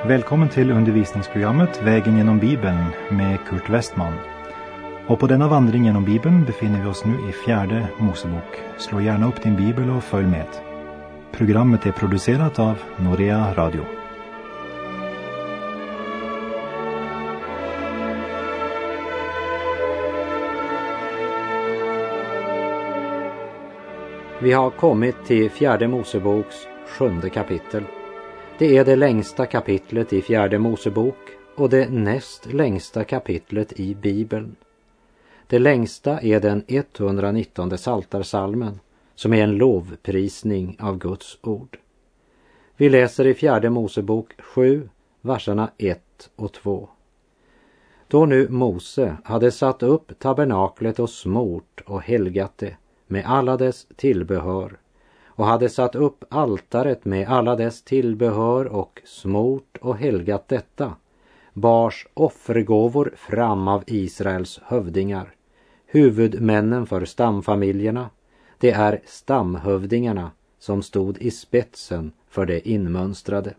Välkommen till undervisningsprogrammet Vägen genom Bibeln med Kurt Westman. Och på denna vandring genom Bibeln befinner vi oss nu i 4:e Mosebok. Slå gärna upp din bibel och följ med. Programmet är producerat av Norea Radio. Vi har kommit till 4:e Moseboks 7:e kapitel. Det är det längsta kapitlet i 4:e Mosebok och det näst längsta kapitlet i Bibeln. Det längsta är den 119:e psaltarpsalmen, som är en lovprisning av Guds ord. Vi läser i 4:e Mosebok 7, verserna 1 och 2. Då nu Mose hade satt upp tabernaklet och smort och helgat det med alla dess tillbehör, och hade satt upp altaret med alla dess tillbehör och smort och helgat detta, bars offergåvor fram av Israels hövdingar, huvudmännen för stamfamiljerna. Det är stamhövdingarna som stod i spetsen för det inmönstrade.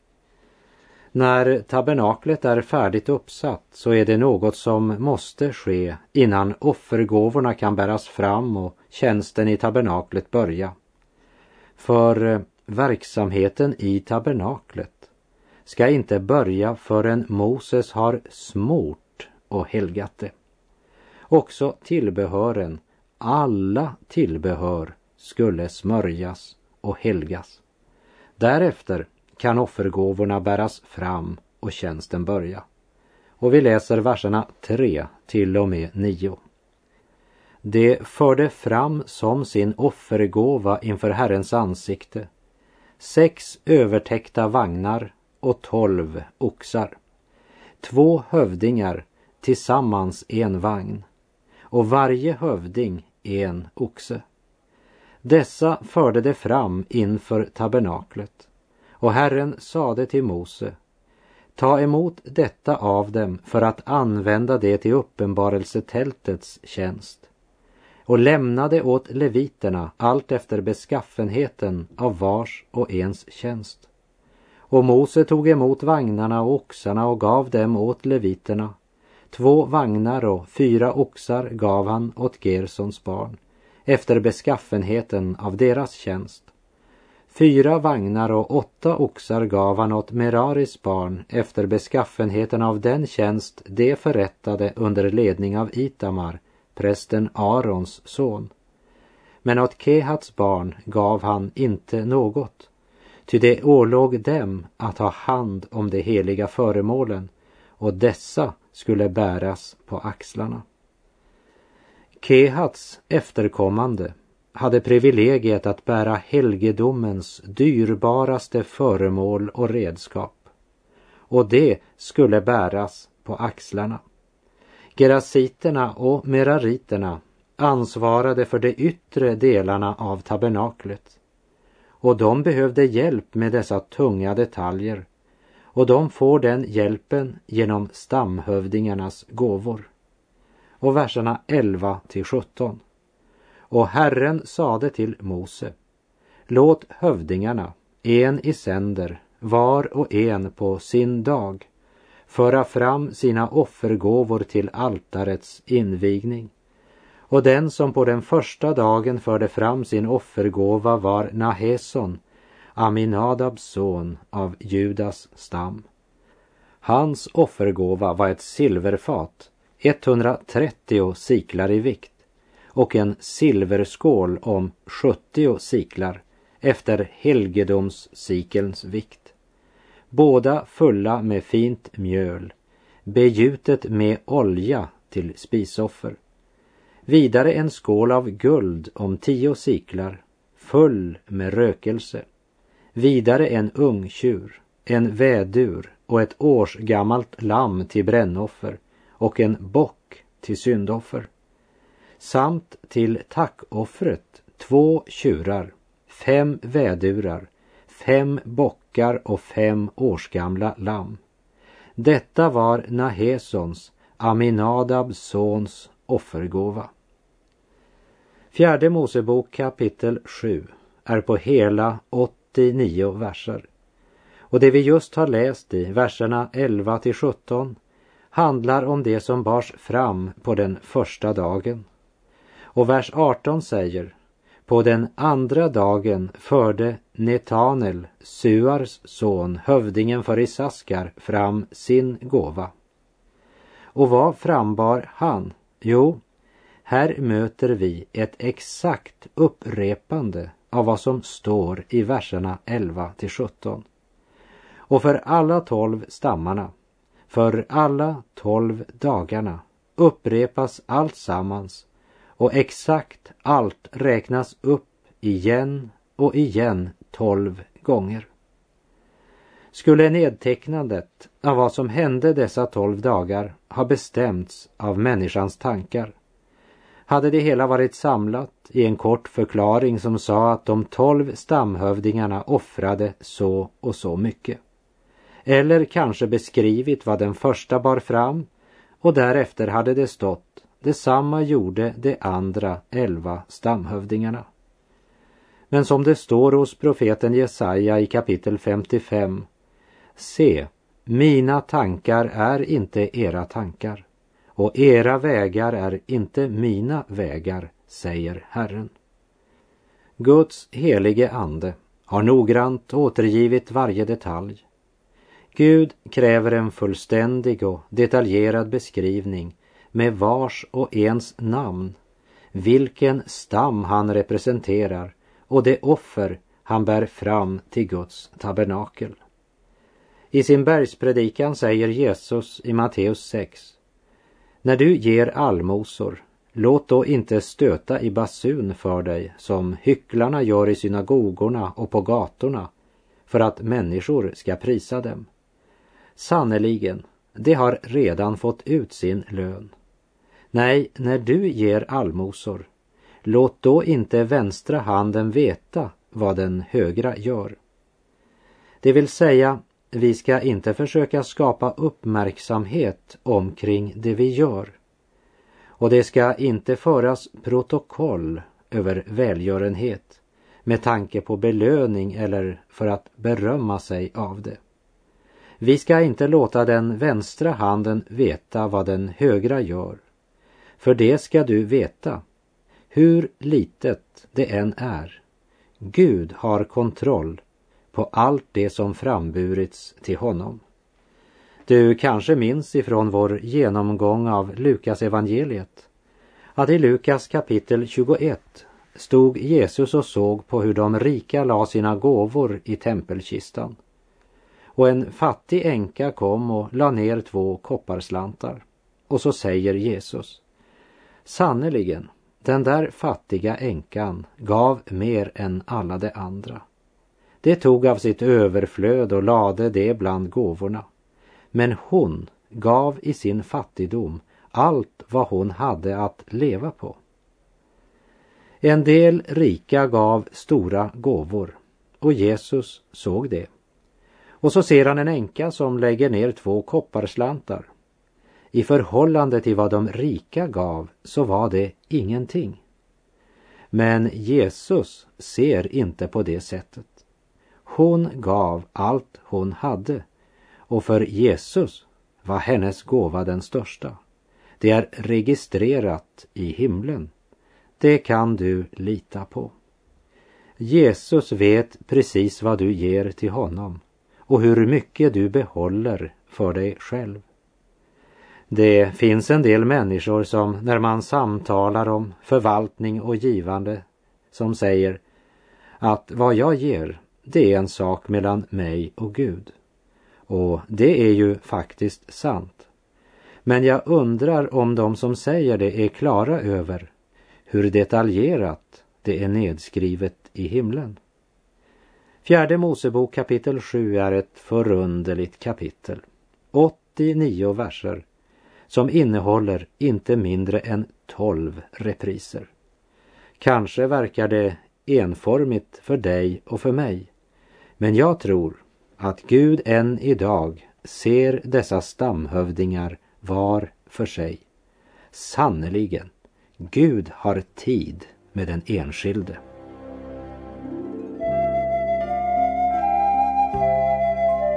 När tabernaklet är färdigt uppsatt så är det något som måste ske innan offergåvorna kan bäras fram och tjänsten i tabernaklet börja. För verksamheten i tabernaklet ska inte börja förrän Moses har smort och helgat det. Också tillbehören, alla tillbehör, skulle smörjas och helgas. Därefter kan offergåvorna bäras fram och tjänsten börja. Och vi läser verserna 3 till och med 9. Det förde fram som sin offergåva inför Herrens ansikte 6 övertäckta vagnar och 12 oxar. 2 hövdingar, tillsammans en vagn, och varje hövding en oxe. Dessa förde det fram inför tabernaklet. Och Herren sade till Mose: ta emot detta av dem för att använda det till uppenbarelsetältets tjänst. Och lämnade åt leviterna allt efter beskaffenheten av vars och ens tjänst. Och Mose tog emot vagnarna och oxarna och gav dem åt leviterna. 2 vagnar och 4 oxar gav han åt Gersons barn, efter beskaffenheten av deras tjänst. 4 vagnar och 8 oxar gav han åt Meraris barn, efter beskaffenheten av den tjänst de förrättade under ledning av Itamar, prästen Arons son. Men åt Kehats barn gav han inte något, ty det ålåg dem att ha hand om de heliga föremålen, och dessa skulle bäras på axlarna. Kehats efterkommande hade privilegiet att bära helgedomens dyrbaraste föremål och redskap, och det skulle bäras på axlarna. Gerasiterna och merariterna ansvarade för de yttre delarna av tabernaklet, och de behövde hjälp med dessa tunga detaljer, och de får den hjälpen genom stamhövdingarnas gåvor. Och verserna 11 till 17. Och Herren sade till Mose: låt hövdingarna, en i sänder, var och en på sin dag, föra fram sina offergåvor till altarets invigning. Och den som på den första dagen förde fram sin offergåva var Naheson, Aminadabs son av Judas stam. Hans offergåva var ett silverfat, 130 siklar i vikt, och en silverskål om 70 siklar, efter helgedomssikelns vikt. Båda fulla med fint mjöl, begjutet med olja till spisoffer. Vidare en skål av guld om 10 siklar, full med rökelse. Vidare en ungtjur, en vädur och ett årsgammalt lamm till brännoffer, och en bock till syndoffer. Samt till tackoffret 2 tjurar, 5 vädurar, 5 bockar och 5 årsgamla lamm. Detta var Nahesons, Aminadabs sons, offergåva. 4:e Mosebok kapitel 7 är på hela 89 verser. Och det vi just har läst i verserna 11-17 handlar om det som bars fram på den första dagen. Och vers 18 säger: på den andra dagen förde Netanel, Suars son, hövdingen för Isaskar, fram sin gåva. Och vad frambar han? Jo, här möter vi ett exakt upprepande av vad som står i verserna 11-17. Och för alla 12 stammarna, för alla 12 dagarna upprepas allt sammans, och exakt allt räknas upp igen och igen 12 gånger. Skulle nedtecknandet av vad som hände dessa 12 dagar ha bestämts av människans tankar, hade det hela varit samlat i en kort förklaring som sa att de 12 stamhövdingarna offrade så och så mycket. Eller kanske beskrivit vad den första bar fram, och därefter hade det stått: detsamma gjorde de andra 11 stamhövdingarna. Men som det står hos profeten Jesaja i kapitel 55: se, mina tankar är inte era tankar, och era vägar är inte mina vägar, säger Herren. Guds helige ande har noggrant återgivit varje detalj. Gud kräver en fullständig och detaljerad beskrivning med vars och ens namn, vilken stam han representerar och det offer han bär fram till Guds tabernakel. I sin bergspredikan säger Jesus i Matteus 6: när du ger allmosor, låt då inte stöta i basun för dig som hycklarna gör i synagogorna och på gatorna, för att människor ska prisa dem. Sannerligen, de har redan fått ut sin lön. Nej, när du ger allmosor, låt då inte vänstra handen veta vad den högra gör. Det vill säga, vi ska inte försöka skapa uppmärksamhet omkring det vi gör. Och det ska inte föras protokoll över välgörenhet med tanke på belöning eller för att berömma sig av det. Vi ska inte låta den vänstra handen veta vad den högra gör. För det ska du veta, hur litet det än är. Gud har kontroll på allt det som framburits till honom. Du kanske minns ifrån vår genomgång av Lukas evangeliet att i Lukas kapitel 21 stod Jesus och såg på hur de rika la sina gåvor i tempelkistan. Och en fattig änka kom och la ner 2 kopparslantar. Och så säger Jesus: sannerligen, den där fattiga änkan gav mer än alla de andra. Det tog av sitt överflöd och lade det bland gåvorna. Men hon gav i sin fattigdom allt vad hon hade att leva på. En del rika gav stora gåvor, och Jesus såg det. Och så ser han en änka som lägger ner 2 kopparslantar. I förhållande till vad de rika gav så var det ingenting. Men Jesus ser inte på det sättet. Hon gav allt hon hade, och för Jesus var hennes gåva den största. Det är registrerat i himlen. Det kan du lita på. Jesus vet precis vad du ger till honom och hur mycket du behåller för dig själv. Det finns en del människor som, när man samtalar om förvaltning och givande, som säger att vad jag ger, det är en sak mellan mig och Gud. Och det är ju faktiskt sant. Men jag undrar om de som säger det är klara över hur detaljerat det är nedskrivet i himlen. 4 Mosebok kapitel 7 är ett förunderligt kapitel. 89 verser som innehåller inte mindre än 12 repriser. Kanske verkar det enformigt för dig och för mig, men jag tror att Gud än idag ser dessa stamhövdingar var för sig. Sannerligen, Gud har tid med den enskilde.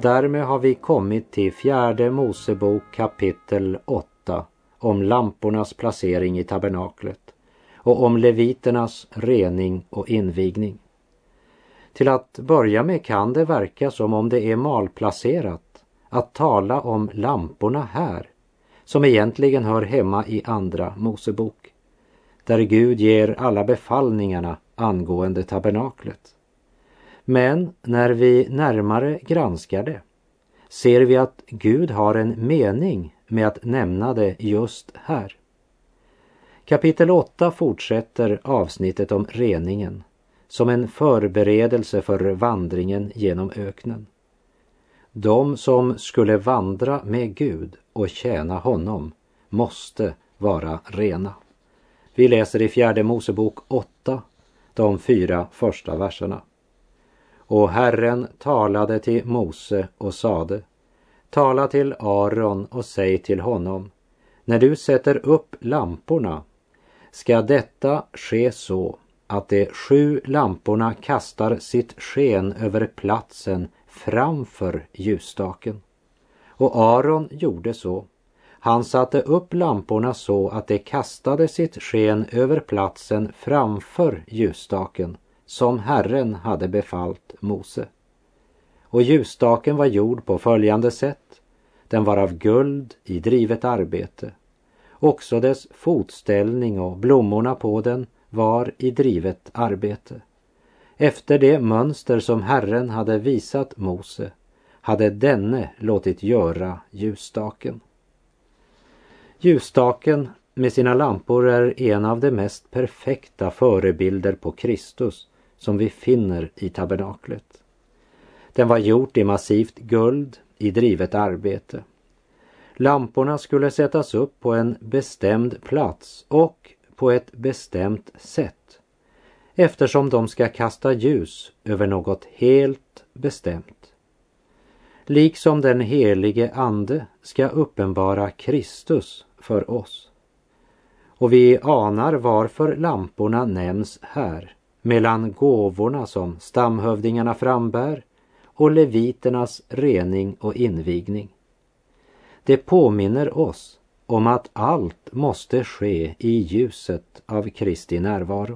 Därmed har vi kommit till 4 Mosebok kapitel 8 om lampornas placering i tabernaklet och om leviternas rening och invigning. Till att börja med kan det verka som om det är malplacerat att tala om lamporna här, som egentligen hör hemma i 2 Mosebok, där Gud ger alla befallningarna angående tabernaklet. Men när vi närmare granskar det ser vi att Gud har en mening med att nämna det just här. Kapitel 8 fortsätter avsnittet om reningen som en förberedelse för vandringen genom öknen. De som skulle vandra med Gud och tjäna honom måste vara rena. Vi läser i 4 Mosebok 8, de 4 första verserna. Och Herren talade till Mose och sade: tala till Aron och säg till honom: när du sätter upp lamporna ska detta ske så att de 7 lamporna kastar sitt sken över platsen framför ljusstaken. Och Aron gjorde så. Han satte upp lamporna så att de kastade sitt sken över platsen framför ljusstaken, som Herren hade befallt Mose. Och ljusstaken var gjord på följande sätt. Den var av guld i drivet arbete. Också dess fotställning och blommorna på den var i drivet arbete. Efter det mönster som Herren hade visat Mose hade denne låtit göra ljusstaken. Ljusstaken med sina lampor är en av de mest perfekta förebilder på Kristus som vi finner i tabernaklet. Den var gjord i massivt guld i drivet arbete. Lamporna skulle sättas upp på en bestämd plats och på ett bestämt sätt, eftersom de ska kasta ljus över något helt bestämt. Liksom den helige ande ska uppenbara Kristus för oss. Och vi anar varför lamporna nämns här, mellan gåvorna som stamhövdingarna frambär och leviternas rening och invigning. Det påminner oss om att allt måste ske i ljuset av Kristi närvaro.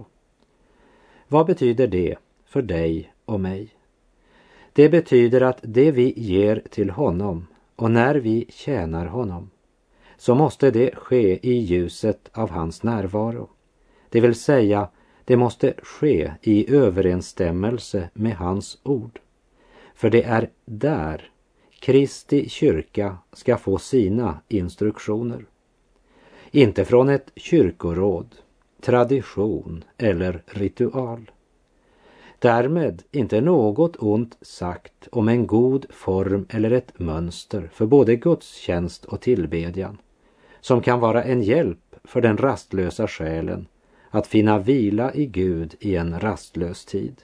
Vad betyder det för dig och mig? Det betyder att det vi ger till honom och när vi tjänar honom, så måste det ske i ljuset av hans närvaro. Det vill säga, det måste ske i överensstämmelse med hans ord. För det är där Kristi kyrka ska få sina instruktioner. Inte från ett kyrkoråd, tradition eller ritual. Därmed inte något ont sagt om en god form eller ett mönster för både gudstjänst och tillbedjan, som kan vara en hjälp för den rastlösa själen att finna vila i Gud i en rastlös tid.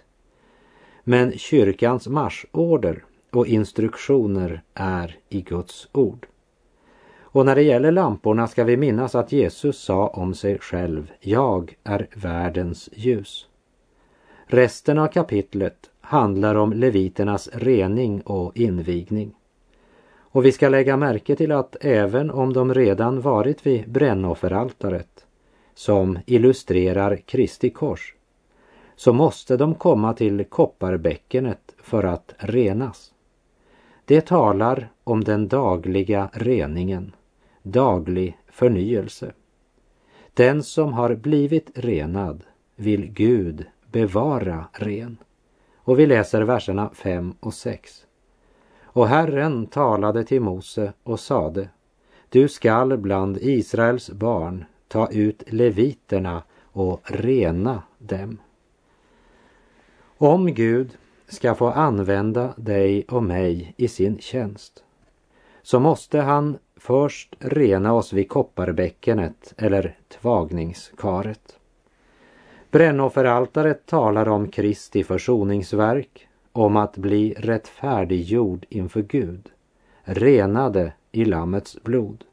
Men kyrkans marschorder och instruktioner är i Guds ord. Och när det gäller lamporna ska vi minnas att Jesus sa om sig själv: jag är världens ljus. Resten av kapitlet handlar om leviternas rening och invigning. Och vi ska lägga märke till att även om de redan varit vid brännofferaltaret, som illustrerar Kristi kors, så måste de komma till kopparbäckenet för att renas. Det talar om den dagliga reningen, daglig förnyelse. Den som har blivit renad vill Gud bevara ren. Och vi läser verserna 5 och 6. Och Herren talade till Mose och sade: du skall bland Israels barn ta ut leviterna och rena dem. Om Gud ska få använda dig och mig i sin tjänst, så måste han först rena oss vid kopparbäckenet eller tvagningskaret. Brännofferaltaret talar om Kristi försoningsverk, om att bli rättfärdiggjord inför Gud, renade i Lammets blod.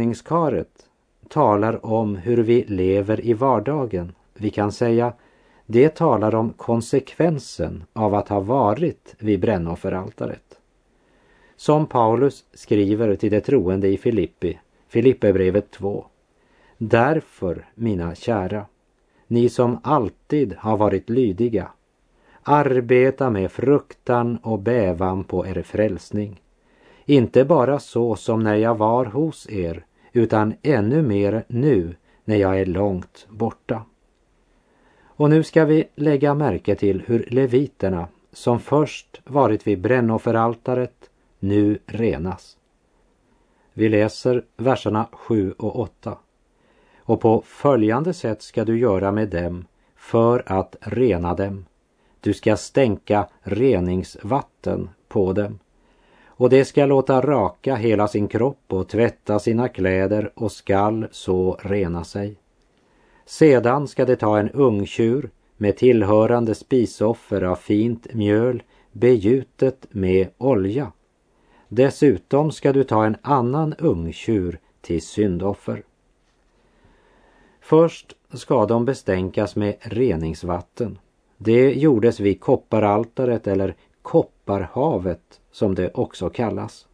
Tvagningskaret talar om hur vi lever i vardagen. Vi kan säga: det talar om konsekvensen av att ha varit vid brännofferaltaret. Som Paulus skriver till de troende i Filipperbrevet 2. Därför, mina kära, ni som alltid har varit lydiga, arbeta med fruktan och bävan på er frälsning. Inte bara så som när jag var hos er, utan ännu mer nu när jag är långt borta. Och nu ska vi lägga märke till hur leviterna, som först varit vid brännofferaltaret, nu renas. Vi läser verserna 7 och 8. Och på följande sätt ska du göra med dem för att rena dem. Du ska stänka reningsvatten på dem. Och det ska låta raka hela sin kropp och tvätta sina kläder och skall så rena sig. Sedan ska det ta en ungtjur med tillhörande spisoffer av fint mjöl begjutet med olja. Dessutom ska du ta en annan ungtjur till syndoffer. Först ska de bestänkas med reningsvatten. Det gjordes vid kopparaltaret eller kopparhavet som det också kallas.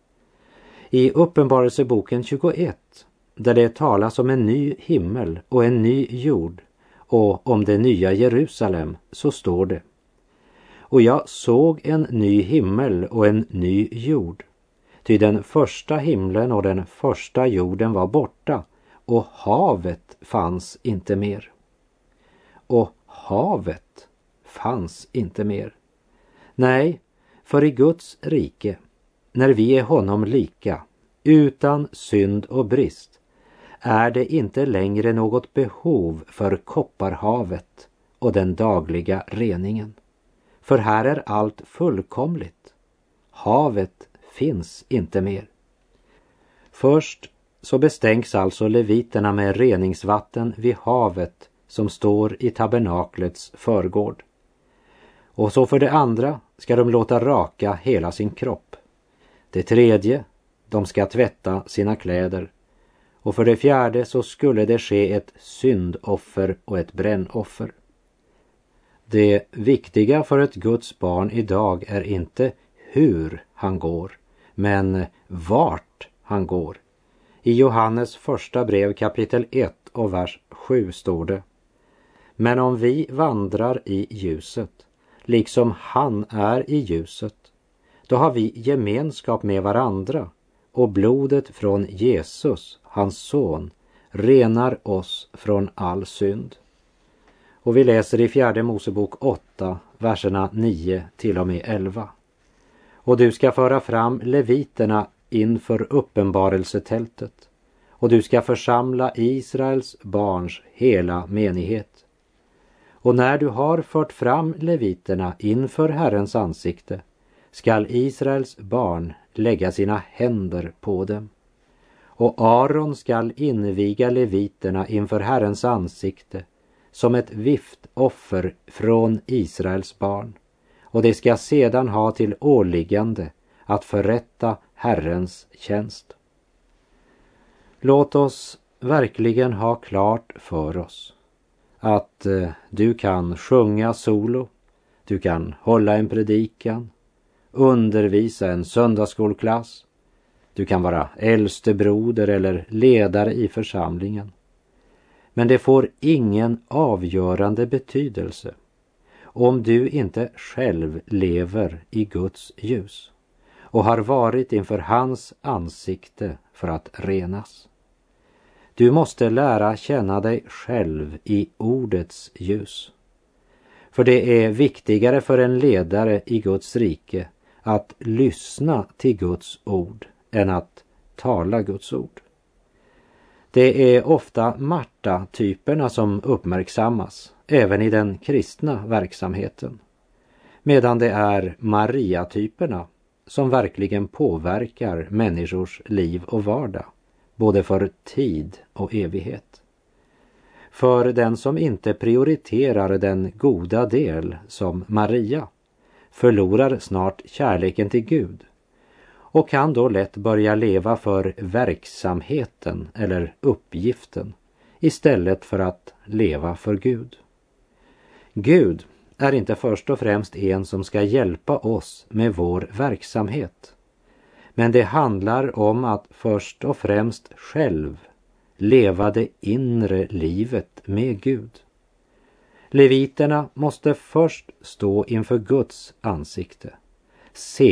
I Uppenbarelseboken 21, där det talas om en ny himmel och en ny jord och om det nya Jerusalem, så står det: och jag såg en ny himmel och en ny jord. Ty den första himlen och den första jorden var borta, och havet fanns inte mer. Och havet fanns inte mer. Nej, för i Guds rike, när vi är honom lika, utan synd och brist, är det inte längre något behov för kopparhavet och den dagliga reningen. För här är allt fullkomligt. Havet finns inte mer. Först så bestänks alltså leviterna med reningsvatten vid havet som står i tabernaklets förgård. Och så för det andra ska de låta raka hela sin kropp. Det tredje, de ska tvätta sina kläder. Och för det fjärde så skulle det ske ett syndoffer och ett brännoffer. Det viktiga för ett Guds barn idag är inte hur han går, men vart han går. I Johannes första brev kapitel 1 och vers 7 står det: men om vi vandrar i ljuset, liksom han är i ljuset, då har vi gemenskap med varandra, och blodet från Jesus, hans son, renar oss från all synd. Och vi läser i 4 Mosebok 8, verserna 9 till och med 11. Och du ska föra fram leviterna inför uppenbarelsetältet, och du ska församla Israels barns hela menighet. Och när du har fört fram leviterna inför Herrens ansikte, skall Israels barn lägga sina händer på dem. Och Aron skall inviga leviterna inför Herrens ansikte som ett viftoffer från Israels barn. Och det ska sedan ha till åliggande att förrätta Herrens tjänst. Låt oss verkligen ha klart för oss att du kan sjunga solo, du kan hålla en predikan, undervisa en söndagsskolklass, du kan vara äldste broder eller ledare i församlingen. Men det får ingen avgörande betydelse om du inte själv lever i Guds ljus och har varit inför hans ansikte för att renas. Du måste lära känna dig själv i ordets ljus. För det är viktigare för en ledare i Guds rike att lyssna till Guds ord än att tala Guds ord. Det är ofta Marta-typerna som uppmärksammas, även i den kristna verksamheten. Medan det är Maria-typerna som verkligen påverkar människors liv och vardag, både för tid och evighet. För den som inte prioriterar den goda del som Maria förlorar snart kärleken till Gud och kan då lätt börja leva för verksamheten eller uppgiften istället för att leva för Gud. Gud är inte först och främst en som ska hjälpa oss med vår verksamhet. Men det handlar om att först och främst själv leva det inre livet med Gud. Leviterna måste först stå inför Guds ansikte.